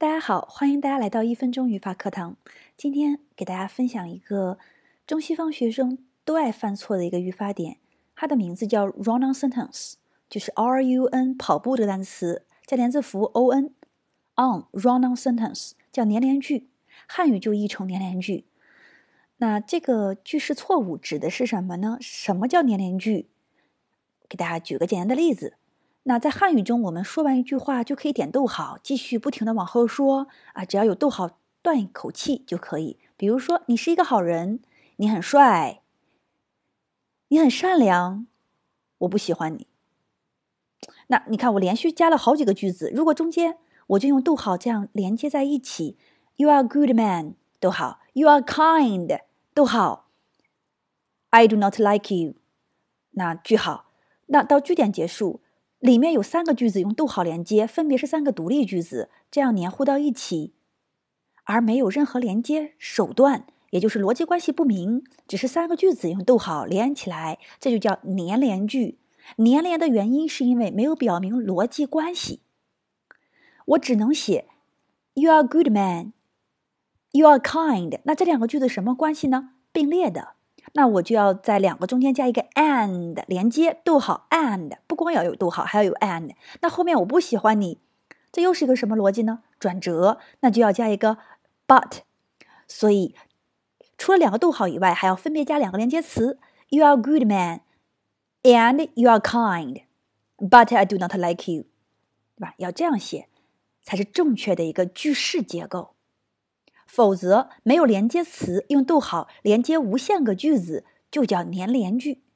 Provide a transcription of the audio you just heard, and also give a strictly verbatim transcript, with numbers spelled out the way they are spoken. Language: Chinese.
大家好，欢迎大家来到一分钟语法课堂。今天给大家分享一个中西方学生都爱犯错的一个语法点，它的名字叫 run on sentence， 就是 R U N 跑步这个单词加连字符 O N on run on sentence 叫连连句，汉语就译成连连句。那这个句式错误指的是什么呢？什么叫连连句？给大家举个简单的例子。那在汉语中，我们说完一句话就可以点逗号，继续不停的往后说啊，只要有逗号断一口气就可以。比如说，你是一个好人，你很帅，你很善良，我不喜欢你。那你看，我连续加了好几个句子，如果中间我就用逗号这样连接在一起 ，You are a good man， 逗号 ，You are kind， 逗号 ，I do not like you， 那句号，那到句点结束。里面有三个句子用逗号连接，分别是三个独立句子，这样黏糊到一起，而没有任何连接手段，也就是逻辑关系不明，只是三个句子用逗号连起来，这就叫连连句。连连的原因是因为没有表明逻辑关系，我只能写 You are a good man， You are kind， 那这两个句子什么关系呢？并列的。那我就要在两个中间加一个 and 连接，逗号 and， 不光要有逗号，还要有 and。那后面我不喜欢你，这又是一个什么逻辑呢？转折，那就要加一个 but。所以除了两个逗号以外，还要分别加两个连接词 You are a good man and you are kind but I do not like you， 对吧？要这样写才是正确的一个句式结构。否则没有连接词，用逗号连接无限个句子就叫连连句。